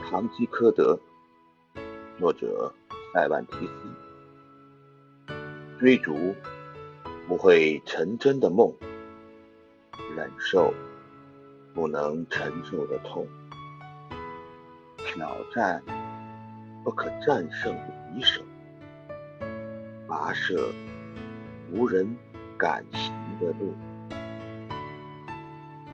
堂吉诃德，作者塞万提斯。追逐不会成真的梦，忍受不能承受的痛，挑战不可战胜的敌手，跋涉无人敢行的路。